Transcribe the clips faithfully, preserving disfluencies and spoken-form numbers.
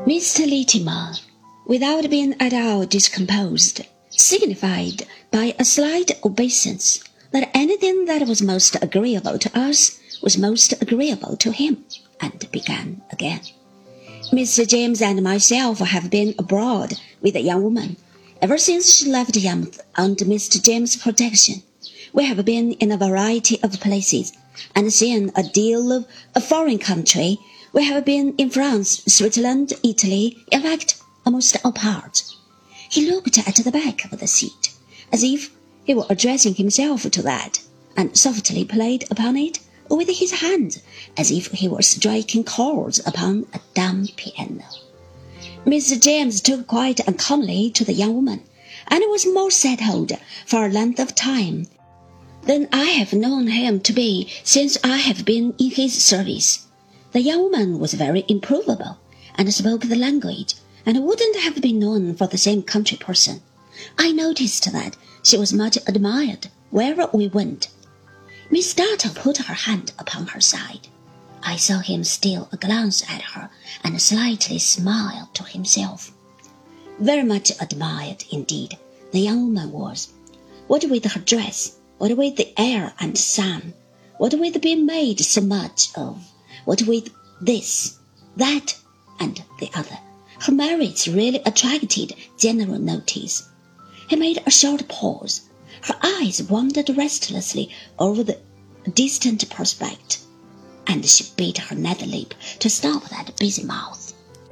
Mister Littimer, without being at all discomposed, signified by a slight obeisance that anything that was most agreeable to us was most agreeable to him, and began again. Mister James and myself have been abroad with the young woman ever since she left Yarmouth under Mister James's protection. We have been in a variety of places, and seen a deal of a foreign country. We have been in France, Switzerland, Italy, in fact, almost all parts. He looked at the back of the seat, as if he were addressing himself to that, and softly played upon it with his hands, as if he were striking chords upon a dumb piano. Mister James took quite uncommonly to the young woman, and was more settled for a length of time than I have known him to be since I have been in his service. The young woman was very improvable, and spoke the language, and wouldn't have been known for the same country person. I noticed that she was much admired wherever we went. Miss Dartle put her hand upon her side. I saw him steal a glance at her, and slightly smile to himself. Very much admired indeed, the young woman was. What with her dress, what with the air and sun, what with being made so much of, what with this, that, and the other, her merits really attracted general notice. He made a short pause. Her eyes wandered restlessly over the distant prospect, and she bit her nether lip to stop that busy mouth.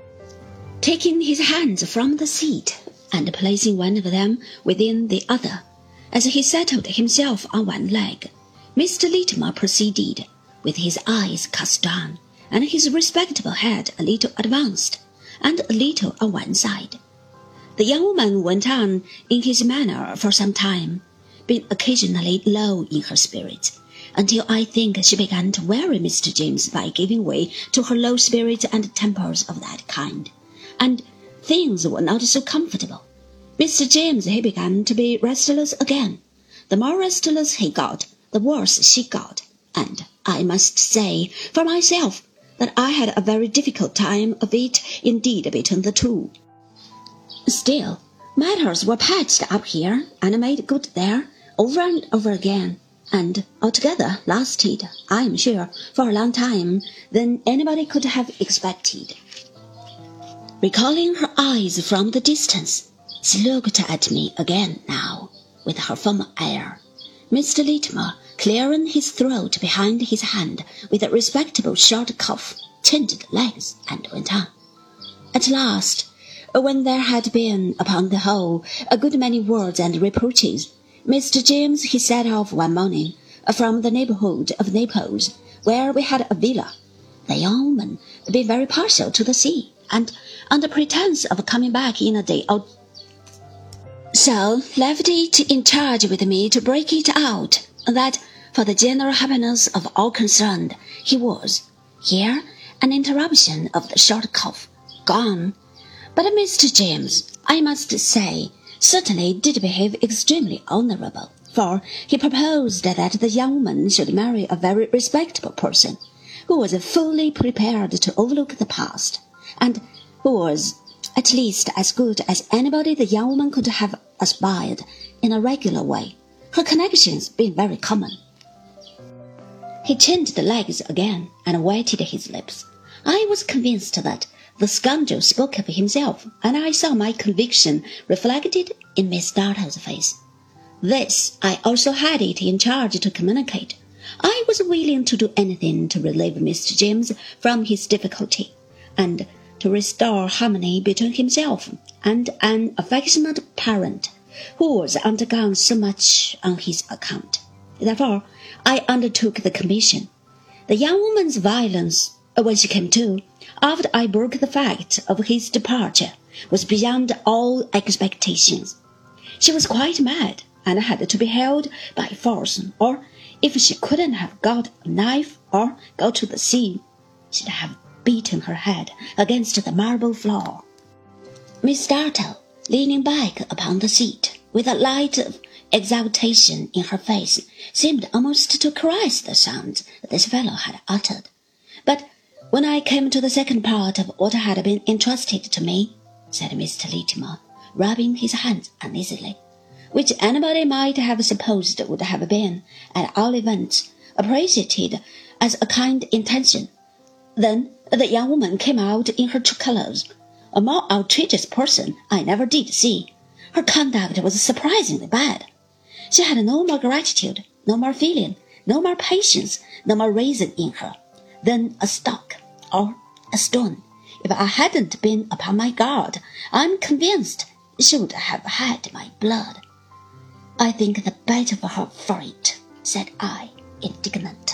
Taking his hands from the seat, and placing one of them within the other, as he settled himself on one leg, Mister Littimer proceeded, with his eyes cast down, and his respectable head a little advanced, and a little on one side. The young woman went on in his manner for some time, being occasionally low in her spirits, until I think she began to weary Mister James by giving way to her low spirits and tempers of that kind, and things were not so comfortable. Mister James he began to be restless again. The more restless he got, the worse she got, and I must say, for myself, that I had a very difficult time of it indeed between the two. Still, matters were patched up here and made good there, over and over again, and altogether lasted, I am sure, for a long time than anybody could have expected. Recalling her eyes from the distance, she looked at me again now, with her former air. Mister Littimer, clearing his throat behind his hand with a respectable short cough, changed legs and went on. At last, when there had been, upon the whole, a good many words and reproaches, Mister James he set off one morning from the neighbourhood of Naples, where we had a villa. The young woman being very partial to the sea, and under pretence of coming back in a day or so left it in charge with me to break it out, that for the general happiness of all concerned, he was, here an interruption of the short cough, gone. But Mister James, I must say, certainly did behave extremely honourable, for he proposed that the young woman should marry a very respectable person, who was fully prepared to overlook the past, and who was at least as good as anybody the young woman could have aspired in a regular way, her connections being very common. He changed the legs again and wetted his lips. I was convinced that the scoundrel spoke of himself, and I saw my conviction reflected in Miss Dartle's face. This I also had it in charge to communicate. I was willing to do anything to relieve Mister James from his difficulty, and to restore harmony between himself and an affectionate parent who was undergone so much on his account. Therefore, I undertook the commission. The young woman's violence, when she came to, after I broke the fact of his departure, was beyond all expectations. She was quite mad, and had to be held by force, or if she couldn't have got a knife or go to the sea, she'd have beaten her head against the marble floor. Miss Dartle, leaning back upon the seat, with a light of exultation in her face, seemed almost to caress the sounds this fellow had uttered. But When I came to the second part of what had been entrusted to me, said Mister Littimer, rubbing his hands uneasily, which anybody might have supposed would have been, at all events, appreciated as a kind intention, then the young woman came out in her true colours. A more outrageous person I never did see. Her conduct was surprisingly bad. She had no more gratitude, no more feeling, no more patience, no more reason in her than a stock or a stone. If I hadn't been upon my guard, I'm convinced she would have had my blood. I think the better for her for it, said I, indignant.